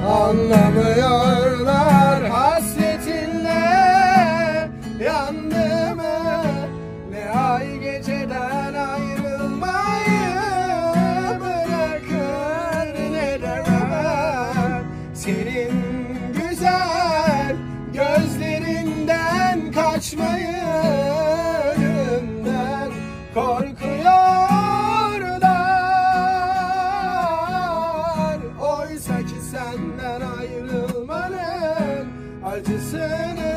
Anlamıyorlar hasretinle yandığımı, ne ay geceden ayrılmayı bırakır, ne de ben senin güzel gözlerinden kaçmayı, ölümden korkuyorlar. Oysa ki senden ayrılmanın acısını